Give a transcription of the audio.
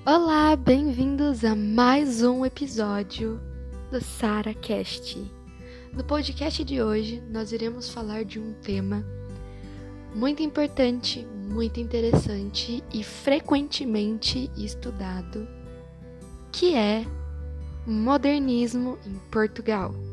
Olá, bem-vindos a mais um episódio do SaraCast. No podcast de hoje, nós iremos falar de um tema muito importante, muito interessante e frequentemente estudado, que é modernismo em Portugal.